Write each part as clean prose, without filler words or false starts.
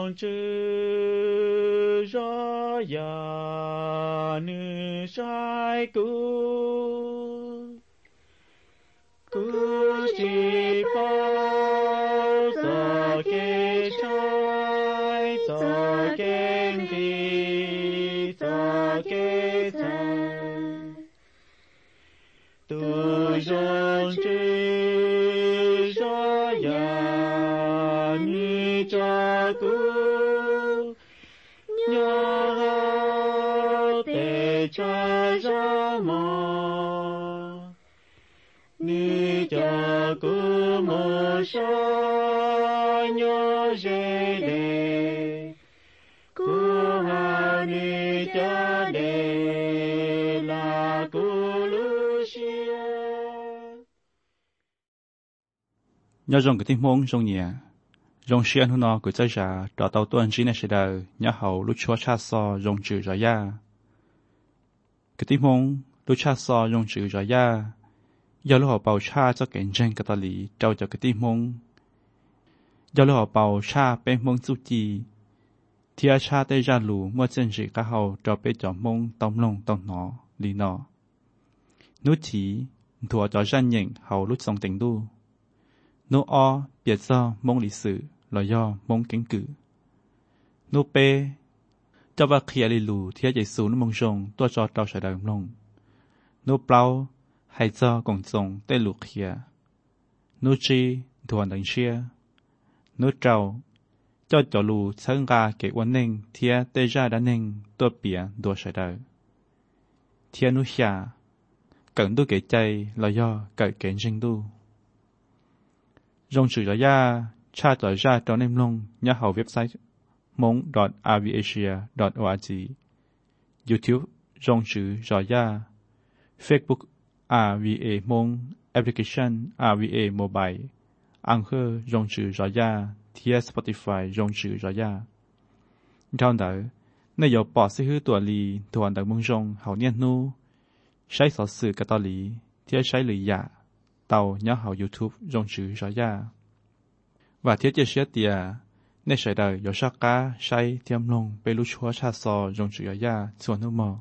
rong chữ rõ ya nữ sai cú chỉ bao giờ kê trái giờ kê đi giờ kê trái tu rong chữ rõ ya nữ cha cú nhớ để cha ra mò nữ cha cú mơ sa nhớ dễ đề cú hà nữ cha đề là cú Lucia nhớ rằng cái tiếng mông trong nhà rong xiên hôn nó của trái trà trò tàu tuần chỉ này sẽ đời nhớ hậu lúc chúa cha so rong chữ rõ ya cái tiếng mông lúc cha so rong chữ rõ ya do lúc họ bầu cha cho kẻ tranh cái tali lý trao cho cái tiếng mông do lúc họ bầu cha bên mông su chi thì cha tây ra lù mua chân chỉ cả hậu cho bên cho mông tông lông tông nó lý nó nút chỉ thua cho dân nhện hậu lúc xong tình đu nô o biệt do mông lịch sử là do mông kiến cử nô p cho vào kia lì lù thì giải số nó mông rồng tua cho tàu sải đời lông nô plau hay do cộng rồng tê lù kia nô chi thuần đánh chia nô trâu cho lù sáng ra cái uốn nền thì tê ra đã nền tua biển tua sải đời thì nô xia cần tu cái chạy là do cái sinh tu rong chữ rõ ya cha tỏ ra trong em long nhớ hậu website mong.rvasia.org YouTube rong chữ rõ ya Facebook RVA Mong Application RVA Mobile Anchor rong chữ rõ ya thia Spotify rong chữ rõ ya trong đó nơi有保持好多里突然的梦中好念怒ใช้สอสื่อกาตอลีที่ใช้หรือยาเตาnhớ hậu YouTube rong chữ rõ ya và thiết chế xét địa nên sẽ đời có sắc cá say tiêm lông bê lú chúa cha sò rong chữ rõ ya xuân nước mò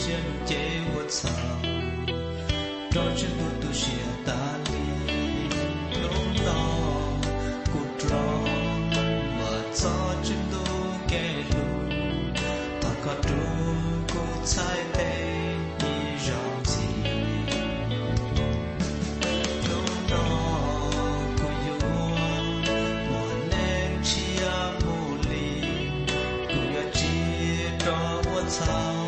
先借我操，照着路都写大力，弄到古装，我早就都给路，他靠住古彩的一让子，弄到古有我能吃啊木里，古要记着我操。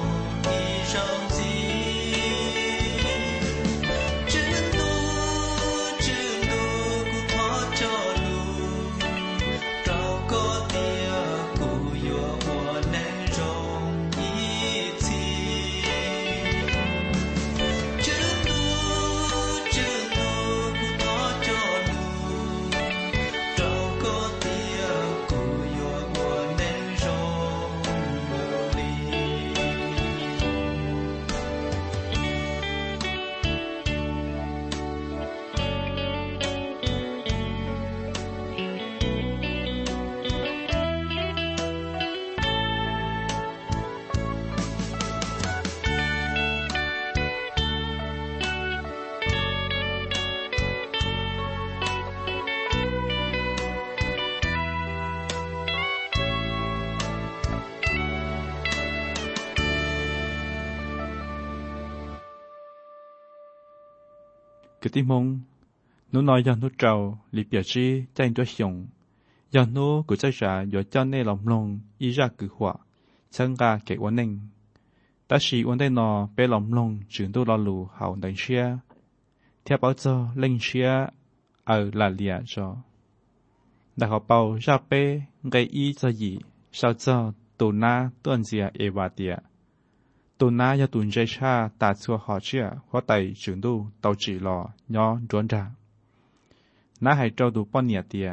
cái tim mông nó nói cho nó trâu li bia chi tranh cho hiong cho nó cứ chơi trả giờ cho nên lòng lòng ý ra cứ hòa chân ga cái vấn đề ta chỉ vấn đề nó bé lòng lòng chuyển tôi lo lù hậu đánh xia theo bảo cho lên xia ở là lìa cho đại học bảo ra bé gây ý cho gì sao cho tổ na tuần gì eva tia tổ na cho tuần chơi cha ta xua họ chia hóa tay chuyển tôi tàu chỉ lò nhỏ trốn ra na hay trâu tụ bao nhiêu tia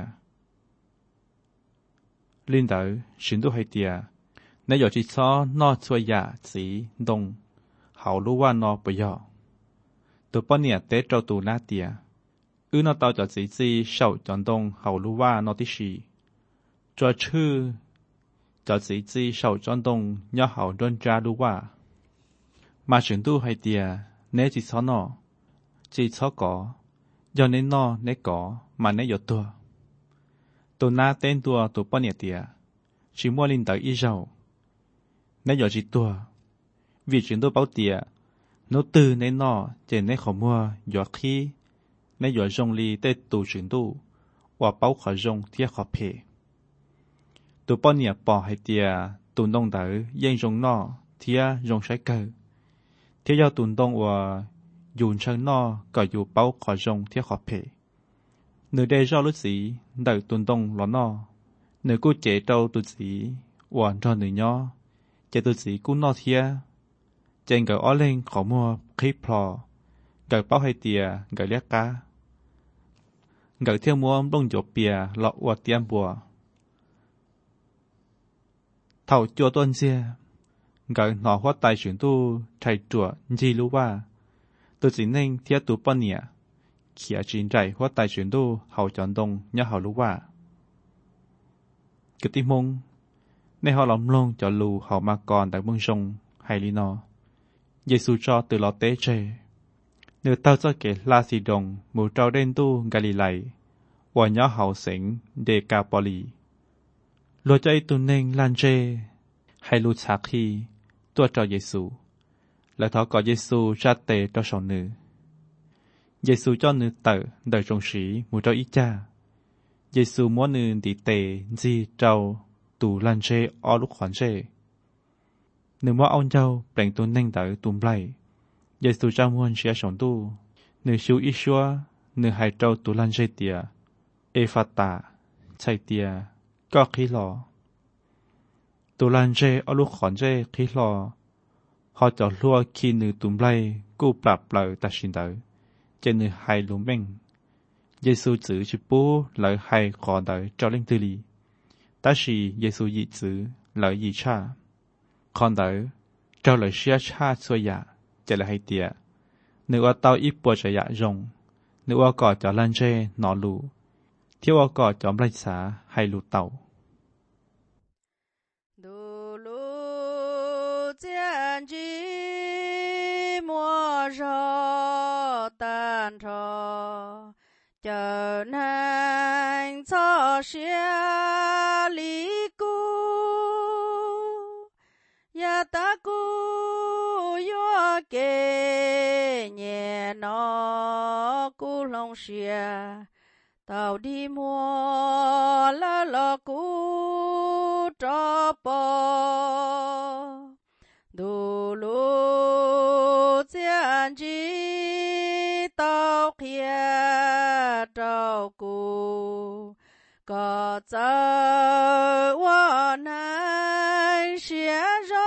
linh tử chuyển tôi hay tia nếu giờ chỉ cho nó xua giả chỉ đông hậu lúaว่าnó bây giờ tụ bao nhiêu té trâu tụ na tia nó tàu cho chỉ sầu chọn đông hậu lúaว่าnó tí gì cho chư cho chỉ sầu chọn đông nhỏ hậu trốn ra lúaว่าmà chuyển tu hay tia nếu chỉ cho nó chỉ cho có do nên nó nếu có mà nếu有tua tu na tên tua tu bao nhiêu tia chỉ mua linh tới ít giàu nếu有chỉ tua vì chuyển tu bảo tia nó từ nên nó chỉ nếu không mua有khi nếu有用力在tu chuyển tu và bảo khó用贴khó赔tu bao nhiêu bỏ hay tia tu nông tới yên dùng nó贴用sai cơ thiết giao tuần đông và dùng chân nó có dù bao khó dùng thiết khó phê. Nếu đây do lúc gì đợi tuần đông lo nó, nếu cô chế trâu tụi gì và cho nữ nhỏ, chế tụi gì cũng nó thiết. Trên gửi ó lên khó mua khí plò, gửi bao hay tìa gửi lét cá. Gửi theo mua đông dỗ bìa lọ và tiêm bùa. Thảo chùa tuần xưa. Gửi nó hóa tài chuyển tu thầy chùa gì lưu ba tôi chỉ nên thiết tu bao nhiêu khi chính trải hóa tài chuyển tu hậu chọn đông nhớ hậu lưu ba cái tim mông nên họ lòng lông cho lù hậu mà còn tại mương sông hay lý nó Giêsu cho từ lọ tế chê nếu tao cho kể la xì đồng mù trao đen tu Galilee và nhớ hậu sỉnh Decapoli lo cho tu nên lan chê hay lưu chạc khiตัวจอเยซูและทอก่อเยซูชาเตตัวสองนือเยซูจ้อนือเตอเดยจงสีมูเจ้าอีจ้าเยซูม้วนนือดีเตจีเจ้าตูลันเชอลูกขวัญเชนือม้วเอาเจ้าเปล่งตัวเน่งเตอตุ่มไล่เยซูเจ้าม้วนเชียสองตู้นือชิวอิชัวนือให้เจ้าตูลันเชเตียเอฟาตาใช่เตียก็ขี้หลอตัวลันเจเอาลูกขอนเจคิดรอเขาจะลัวขี้นือตุ่มไล่กู้ปรับเลยตัดสินเดอเจนือไฮลุมเม่งเยซูจื้อชิปูเลยไฮขอเดอเจ้าเล่งตุลีแต่สิเยซูยีจื้อเลยยีชาขอนเดอเจ้าเลยเชียชาสวยยาจะเลยให้เตียนึกว่าเต้าอีปัวจะยะรงนึกว่าก่อจะลันเจนอลูเที่ยวก่อจะไล่สาให้ลูเต้า见机 kê nhẹ nó cú lòng xìa tàu đi mua lá lọ cú cho bò đủ lũ chiến chỉ tàu kia trâu cú có giờ qua này xia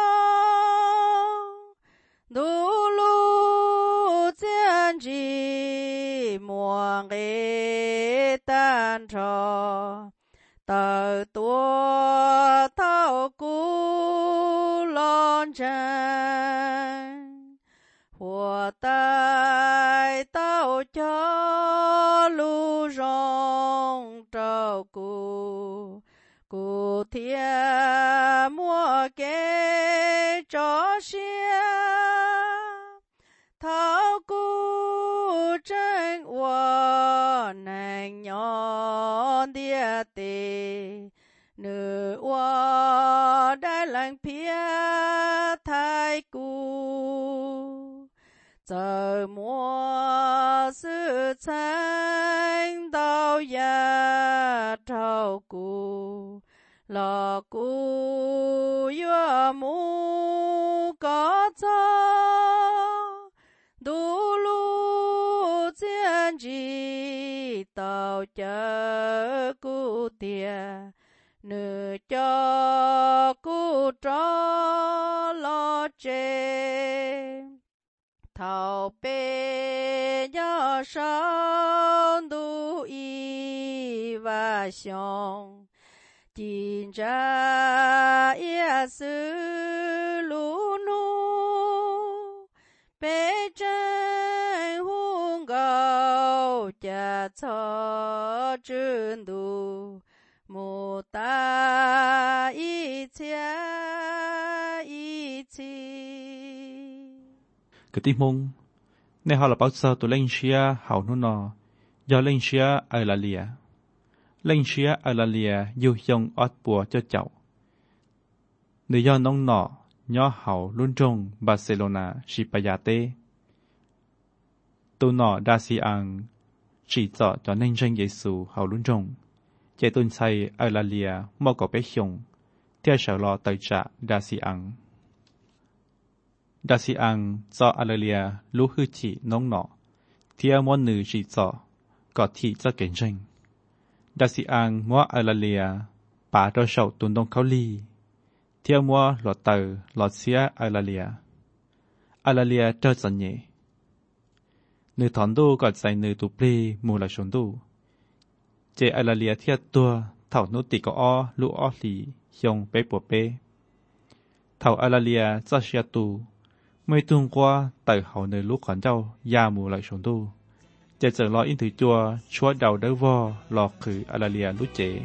rong đủ lũ chiến chỉ mua cái tan trò tờ tua thao cú lon chân hoa tai tao cho lu rong trâu cú thiên mua cái cho xia thao cú chân hoa nàng nhon địa tề nữ hoa đã lăng phía thái cú giờ mua sự thanh đau ya trâu cú lò cú yua mu có cho đủ lũ chiến chỉ tàu chở cú tiền nữ cho cú cho lo chê thảo bê nhớ sống đủ y và xong chính ra ia sư lũ nu bê chân hung gạo cha cho chân đủ mô ta y chia y chi cái tim mông nên họ là bao giờ tụi lên xia hậu nó nọ do lên xia ở là lìa lên xia ở là lìa yêu dòng ót bùa cho cháu người do nông nọ nhỏ hậu luôn trong Barcelona Sipayate tụi nọ đa si ăn chỉ cho nên danh Giêsu hậu luôn trong chạy tuần say ở là lìa mò có bé hiồng theo sở lo tới trả đa si ăn đa si ăn cho Alalia lũ hư chỉ nông nọ theo món nữ chỉ có thị cho kiến tranh đa si ăn mua Alalia bà cho sầu tuần đông khâu ly theo mua lọt tờ lọt xía Alalia cho dần nhẹ nữ thọn đô gọi giải nữ tụ plê mù là sống đô chế Alalia theo tua thảo nô tì có o lũ o lì hiong bé bùa bé thảo Alalia cho xia tù mấy tuần qua tại hậu nơi lúc còn đâu gia mù lại sống tu chờ chờ lo in thử chua chúa đầu đỡ vo lọt khử Alalia lúc chế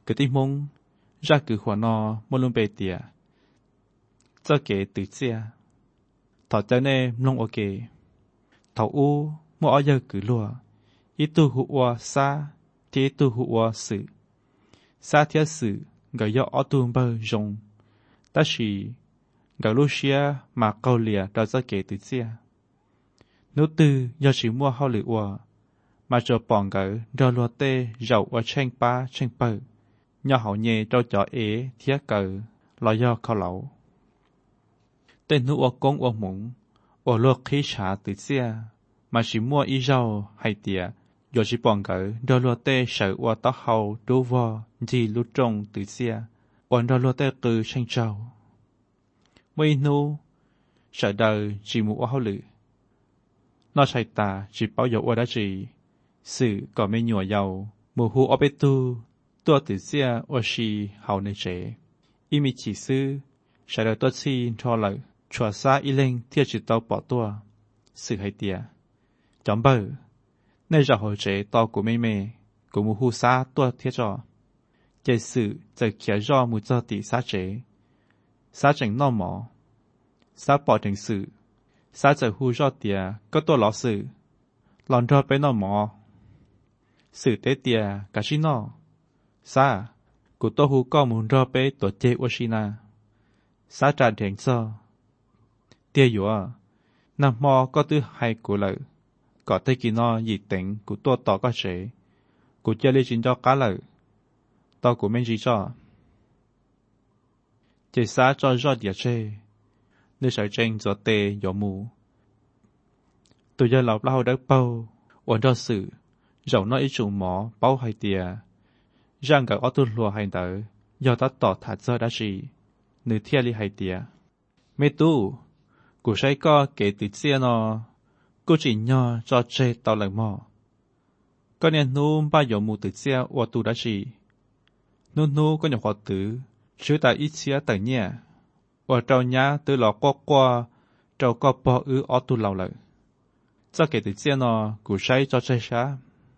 cái tim mông ra cứ khoa nọ mua luôn bề tiệt cho kể tự chia thọ cho nên long ok thọ u mua ở giờ cứ lùa ít tu hụa xa thì tu hụa sự xa thiết sự gửi do ở tu bờ rồng ta chỉ gửi Lucia mà câu lìa đó cho kể tự chia nếu tư do chỉ mua hao lửa ua mà cho bọn gửi do lùa tê dầu ở tranh pa tranh bờ nhỏ hậu nhẹ cho chó ế thiết cờ lo do khao lẩu tên nữ ua công ua mũng ua lùa khí trả tự chia mà chỉ mua ý rau hay tỉa do chỉ bọn gửi do lùa tê sợ ua tóc hậu đu vò gì lút trông tự chia ua do lùa tê cư tranh trâu mấy nu sợ đời chỉ mua hao lửa nó chạy ta chỉ bảo dầu ua đã chỉ sự có mấy nhùa dầu mùa hú ở bê tuตัวติเสียว่าชีเฮาในเจอีมีจีซื้อใช้แล้วตัวชีทอเลยชัวซาอีเล่งเทียจิตเตาปอตัวสื่อให้เตียจอมเบอร์ในจะหัวเจต่อกูไม่เมกูมูฮูซาตัวเทียจอเจสื่อจะเขียจอมูเจอติซาเจซาจังนอหมอซาปอถึงสื่อซาจะฮูจอเตียก็ตัวหลอสื่อหลอนรอไปนอหมอสื่อเตเตียกาชินอsa cụ tô hú có muốn ra bé tổ chế Washina sa trả tiền cho tia dùa nằm mò có thứ hai cụ lợi có thấy kỳ nó dị tính cụ tô tỏ có chế cụ chơi lấy chính cho cá lợi tao cụ men gì cho chế sa cho rót địa chế nơi sở tranh gió tê gió mù tôi giờ lọc lao đất bao ổn cho sự dẫu nó ít chủ mỏ bao hai tia rằng cả ô tô lùa hành tử do ta tỏ thật ra đã gì nữ thiên lý hay tía mẹ tu cụ say co kể từ xưa nó cụ chỉ nhỏ cho chơi tao lần mò có nên nu ba giờ mù từ xưa ô tu đã gì nu có nhỏ họ tử chứ ta ít xía tự nhẹ ở trâu nhá từ lọ qua trâu co bỏ ô tu lâu lại cho kể từ xưa nó cụ say cho chơi sao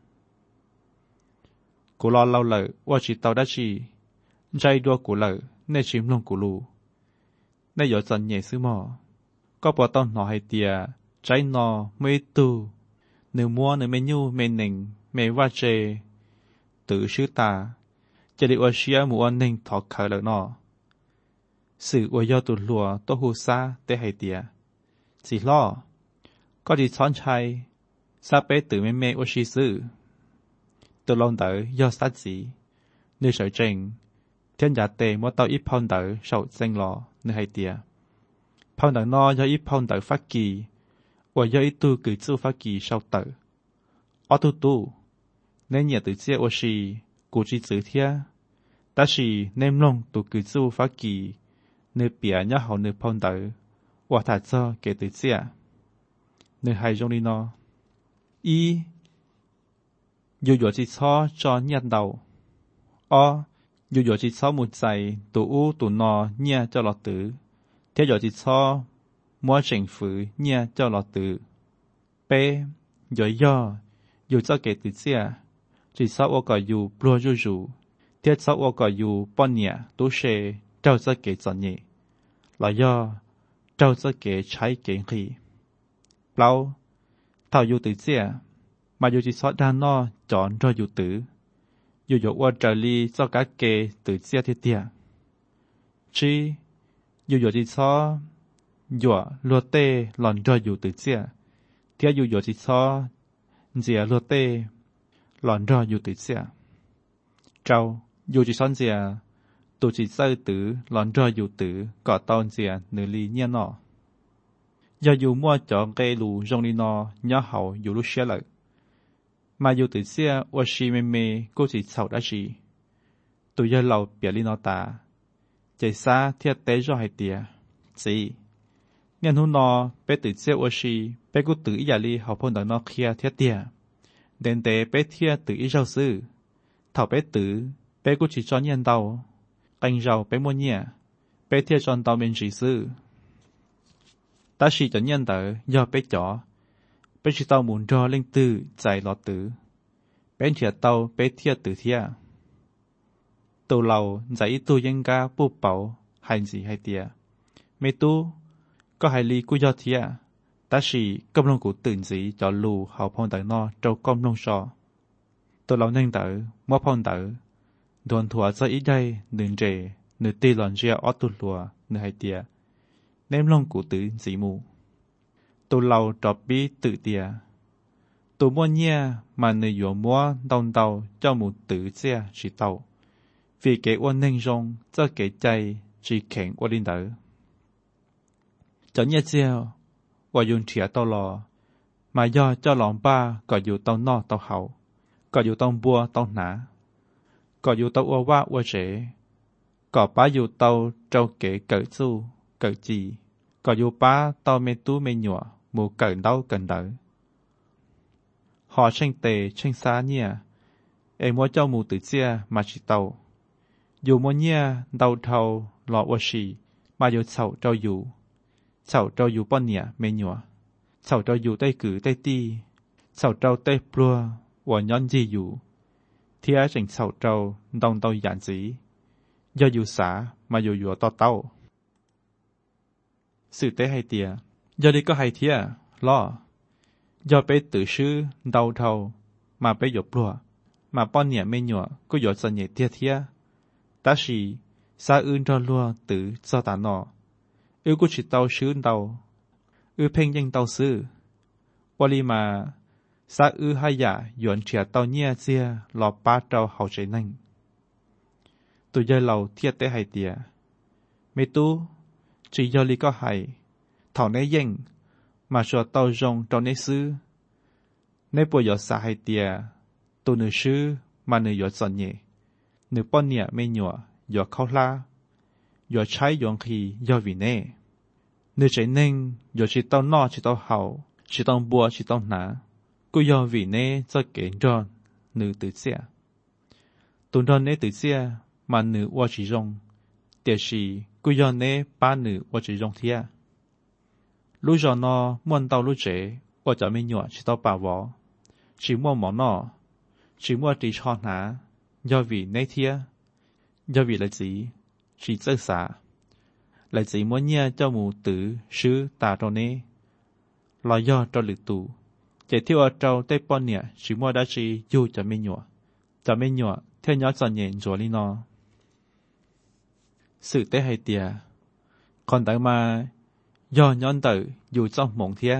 cụ lo lâu lợiว่าchỉ tàu đã chỉใจđua cụ lợi nên chìm lông cụ lù nên giờ dần nhẹ xứ mò có bỏ tao nọ hay tìa trái nọ mê tu nếu mua nếu mê nhu mê nình mê va chê tự sứ ta chỉ để ở xía mua nình thọ khởi lợi nọ sự ở do tụt lùa tô hù xa tế hay tìa chỉ lo có gì chọn chay xa bé tự mê mê ở xí xứ tôi lòng đỡ do sát gì nơi sở trình thiên giả tề mua tàu ít phong đỡ sầu danh lò nơi hay tìa phong đỡ no do ít phong đỡ phát kỳ và do ít tu cử chu phát kỳ sau tử ở tu nên nhà tự chia ở xì cụ chỉ chữ thia ta xì nên long tu cử chu phát kỳ nơi bìa nhá hậu nơi phong đỡ và thà cho kể tự chia nơi hay trong đi no yอยู่ๆจิตซ้อจอเนี่ยเดาอยู่ๆจิตซ้อมุดใจตัวอู้ตัวนอเนี่ยเจ้าหลอตือเที่ยวจิตซ้อมัวเฉิงฝือเนี่ยเจ้าหลอตือเป้ย่ออยู่เจ้าเกติเสียจิตซ้อว่าก็อยู่ปลัวจู่เที่ยวซ้อว่าก็อยู่ป้อนเนี่ยตู้เชเจ้าเจ้าเกจอนเนี่ยหล่อย่อเจ้าเจ้าเกใช้เก่งขีเปล่าเท่าอยู่ติเสียmà dù chỉ sót đàn nó chọn cho dù tử dù dụ qua trở ly cho các kê tự chia thiết tiệt chi dù chỉ sót dù lúa tê lòn cho dù tự chia thiết dù chỉ sót dìa lúa tê lòn cho dù tự chia trâu dù chỉ sót dìa tụ chỉ sơ tử lòn cho dù tử có tao dìa nửa ly nhiên nọ do dù mua cho cây lù rong đi nọ nhỏ hậu dù lúc xé lợi mà dù tự xưaว่าชีเมก็chỉ sầu đã gì tụi giờ lâu biểu li nó ta chạy xa thiệt tế cho hai tia gì nhân hôn nó bé tự xưaว่าชีbé cũng tự ý li học phong đẳng nó kia thiệt tia đến tế bé thiệt tự ý rau sư thảo bé tử bé cũng chỉ cho nhân đầu canh rau bé mua nhẹ bé thiệt cho đầu bên chỉ sư ta chỉ cho nhân tử do bé chó bé chỉ tàu muốn cho linh tư giải lọt tử bé thiệt tàu bé thiệt tử thiệt tàu lầu giải tu dân ca bù bảo hay gì hay tiệt mấy tu có hai ly cú do thiệt ta chỉ công long củaตื่นgì cho lù hậu phong tử no trâu công long sò tàu lầu nhanh tử mót phong tử đồn thua cho ít đây đừng trề nửa tê lòn ria ót tu lùa nửa hai tiệt ném long của tử gì mù tàu lầu trọp bí tự tiệt tàu mua nhia mà nửa yếu mua đòn tàu cho một tử xe chỉ tàu vì cái quan ninh rong cho cáiใจchỉ kẹn qua linh tử cho nhia chiềuว่ายุนเฉียตลอมาย่อเจ้าหลองป้าก็อยู่ตรงนอกตรงเขาก็อยู่ตรงบัวตรงหนาก็อยู่ตรงอัวว่าอัวเฉก็ป้าอยู่ตรงเจ้าเก๋เกิดสู้เกิดจีก็อยู่ป้าตรงเมตู้เมหยัวหมู่เกิดเต้าเกิดเต๋อหอเช่งเตเช่งซาเนี่ยเอ็มว่าเจ้าหมู่ตื่นเสียมาชิเตาอยู่มัวเนี่ยเตาเทาหล่อวัวชีมาอยู่เฉาเจ้าอยู่เฉาเจ้าอยู่ป้อนเนี่ยเมหยัวเฉาเจ้าอยู่ใต้กือใต้ตีเฉาเจ้าใต้ปลัวหัวย้อนจีอยู่เทียเฉิงเฉาเจ้าดองเตาหยานสีย่ออยู่สามาอยู่หัวต่อเต้าสื่อเต้ให้เตียย่อดีก็ให้เทียล่อย่อไปตื่อชื่อเดาเทามาไปหยบปลัวมาป้อนเนี่ยเมหยัวก็หยดสัญญาเทียเทียตาชีซาอื่นรอลัวตื่อเจ้าตานอกูชิดเตาชื้นเตาเพ่งยังเตาซื้อวลีมาซาให้ยาหยวนเฉียเตาเนี่ยเจียหลอป้าเตาเขาใจนั่งตัวเยเราเทียเตให้เตียไม่ตู้จียอลีก็ให้ถอนในเย่งมาชัวเตาจงเตาในซื้อในปวยหยดสาให้เตียตัวหนึ่งซื้อมาหนึ่งหยดสัญญาหนึ่งป้อนเนี่ยไม่หยัวหยดเข้าลาหยดใช้หยวนขียอวิเน่เนื้อใจนิ่งหยดชิตอนนอชิตอนเห่าชิตอนบัวชิตอนหนากูยอวิเน่จะเก่งจอนหนึ่งตื่นเสียตุนดอนเน่ตื่นเสียมาหนึ่งว่าชิจงเดี๋ยวชีกูยอเน่ป้าหนึ่งว่าชิจงเทียลูกจอนอม้วนเตาลูกเจ๋ว่าจะไม่หยัวชิตอนป่าวอชิม้วนหมอนอชิม้วนตีชอนหายอวิเน่เทียยอวิเลยจีchỉ rất xa, lại chỉ muốn nhớ cho mù tử sứ tà trâu nế, lo do cho lực tù, chỉ thiếu ở trâu tây pon nhẹ chỉ mua đã chỉ du cho mấy nhọ theo nhỏ chọn nhện rồi đi nó, sự tế hay tiề, còn tại mà do nhón tử dù trong mộng thía,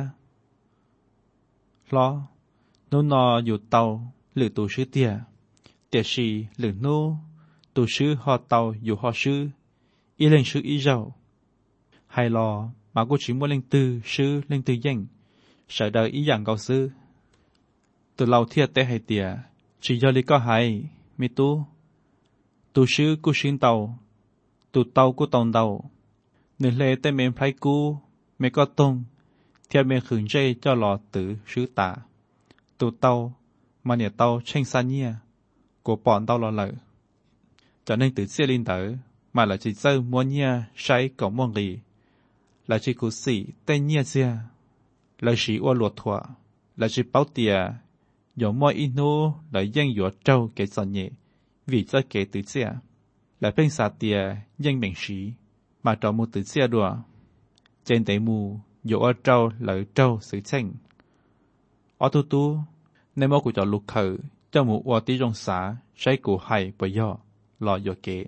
lo, nó dù tàu lực tù sứ tiề, tiề xì lực nô tổ sư họ tàu dù họ sư y lên sư y giàu hay lo mà cô chỉ muốn lên tư sư lên tư danh sợ đời ý dạng cầu sư từ lâu thiệt tế hay tiề chỉ do lý có hay mi tu tổ sư cô xin tàu tổ tàu cô tòng tàu nên lệ tế mềm phải cô mẹ có tông theo mẹ khửng dây cho lò tử sư tả tổ tàu mà nhà tàu tranh xa nhia của bọn tàu lò lợi cho nên từ xe linh tử mà là chỉ dâu muốn nhia say cổng mong gì là chỉ cố sĩ tên nhia xe là chỉ ô luật thua là chỉ báo tiề dẫu mọi inu là dân dỗ trâu cái giòn nhẹ vì cho cái từ xe là bên xa tiề dân bệnh sĩ mà trò một từ xe đùa trên tay mù dỗ ở trâu lợi trâu sự tranh ở tu nên mỗi của trò lục khởi cho một ô tí trong xã say của hay bởi do lò dò kế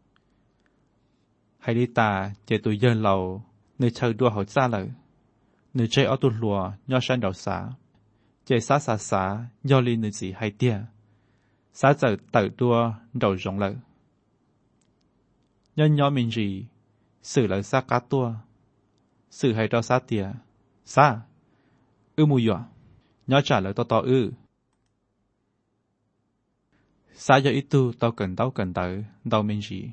hay đi ta chế tụi dân lầu nơi chơi đua hỏi xa lợi nơi chơi ở tụi lùa nho sang đầu xã chế xã do li nơi gì hay tia xã giờ tự đua đầu rộng lợi nhân nhỏ mình gì xử lợi xa cá tua xử hay cho xã tia xã mù dọa nhỏ trả lời to xã do ít tu tao cần tới tao mình gì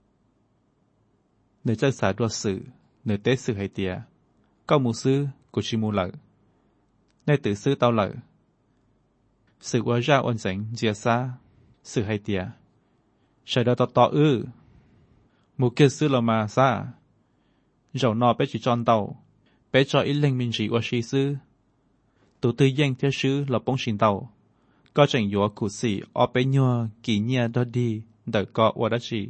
nơi chân xã đua sự nơi tế sự hay tiề cao mù sư của chi mù lợi nơi tự sư tao lợi sự qua ra ôn dẫn dìa xa sự hay tiề sợ đó to mù kia sư là mà xa dầu nọ bé chỉ tròn tàu bé cho ít linh mình gì qua si sư tụ tư danh theo sư là bóng xin tàu có chẳng yếu cụ sĩ ở bên nhau kỳ nhia đó đi đợi có qua đó chi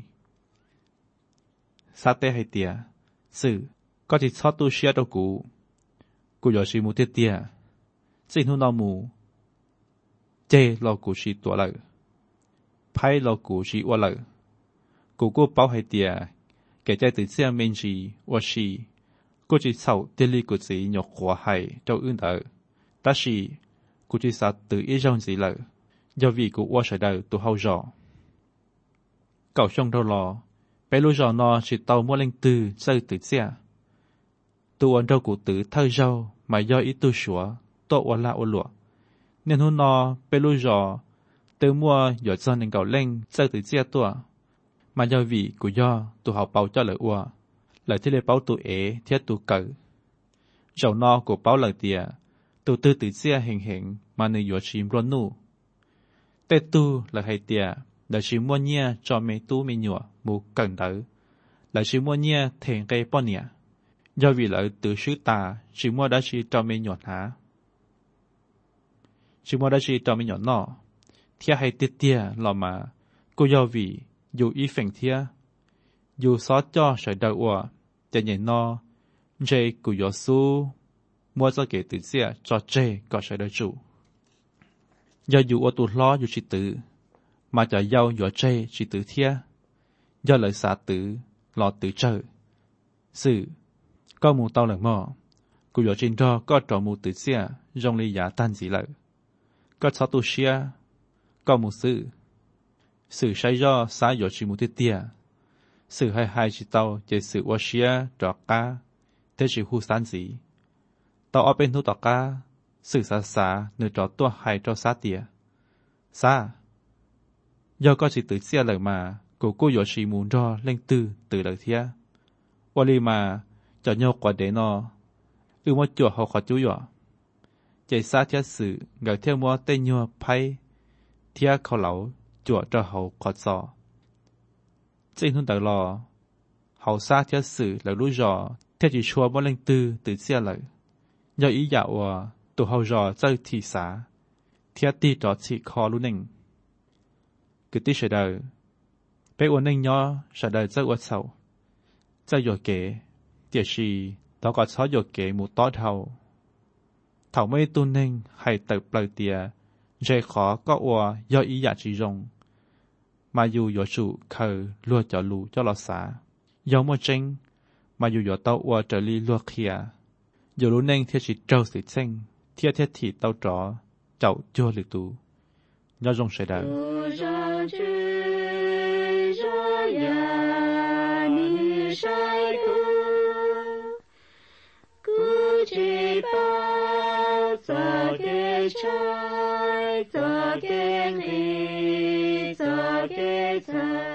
sát tê hay tiệt sự có chỉ sót tu sửa đâu cũ giờ chỉ một tiệt tiệt xin hôn nó mù chê lo cũ chỉ tuổi lợi phái lo cũ chỉ qua lợi cũ bảo hay tiệt kểใจtừ xe mình chỉว่าชีกูจะเศร้าเดลีกูจะหยกหัวให้เจ้าอื่นเถอะแต่ชีกูจะสัตว์ตื่นอีจงสิเลยยาวีกูว่าใช้ได้ตัวเฮาจ่อเก่าช่องเท่ารอไปรู้จ่อนอชิเตามัวเล่งตื่นเสื่อตื่นเสียตัวอันเจ้ากูตื่นเท่าเจ้าไม่ย่อยอีตัวชัวตัววันละวันหลวเนียนหุ่นนอไปรู้จ่อตื่นมัวหยดจอนหนึ่งเก่าเล่งเสื่อตื่นเสียตัวmà do vì của do tụ học bảo cho lời ua lời thế lệ bảo tụ ế thiết tụ cử dầu no của bảo lời tìa tụ tư tự xia hình mà nơi dọa chìm luôn nụ tê tu là hay tìa là chỉ mua nhia cho mấy tu mấy nhựa mù cần đỡ là chỉ mua nhia thèn cây bao nhẹ do vì lợi tự sứ ta chỉ mua đã chỉ cho mấy nhọt hả chỉ mua đã chỉ cho mấy nhọt nọ thiết hay tiết tia lò mà cô do vì dù ý phèn thia dù xóa cho sợi đầu ua để nhìn no dây của gió su mua cho kể tự xia cho dây có sợi đầu chủ do dù ô tụt lo dù chỉ tự mà cho giàu gió dây chỉ tự thia do lời xả tự lo tự trời sự có mù tao lần mò của gió trên đó có trò mù tự xia rong ly giả tan gì lợi có sáu tu xia có mù sự sai do xã dọ chỉ một tiệt sự hai chỉ tàu chỉ sự qua xia trọ cá thế chỉ hu san gì tàu ở bên thu tọ cá sự xã nửa trọ tua hai trọ xã tiệt xã do có chỉ tự xia lời mà cô dọ chỉ muốn cho lên từ lời thia qua li mà cho nhau quả để nó một chỗ họ khó chú dọ chỉ xã thiết sự ngờ theo mua tên nhau pay thia khẩu lẩu chùa cho hậu khó gió. Trên hôn đợi lò, hậu xa thiết sự là lũ giò, thiết chỉ chua bó lên từ xe lợi. Do ý dạo tụ hậu giò chơi thị xá, thiết ti trò chỉ khó lũ nình. Cứ tí sẽ đời, bé ổn nình nhỏ sẽ đời chơi ổn sầu. Chơi dò kế, tiệt xì, đó có xó dò kế một tó thầu. Thảo mê tu nình hay tập lời tìa, dễ khó có ua do ý giả chỉ rồng. Mà dù dọ chủ khờ lùa cho lù cho lọ xá. Do mùa tranh, mà dù dọ tao ua trở li lùa khía. Dù lũ nênh thiết chỉ trâu sự tranh, thiết thì tao tró, chậu chua lực tù. Do rồng sẽ đời. Giờ kê trái, giờ kê ly, giờ kê trái.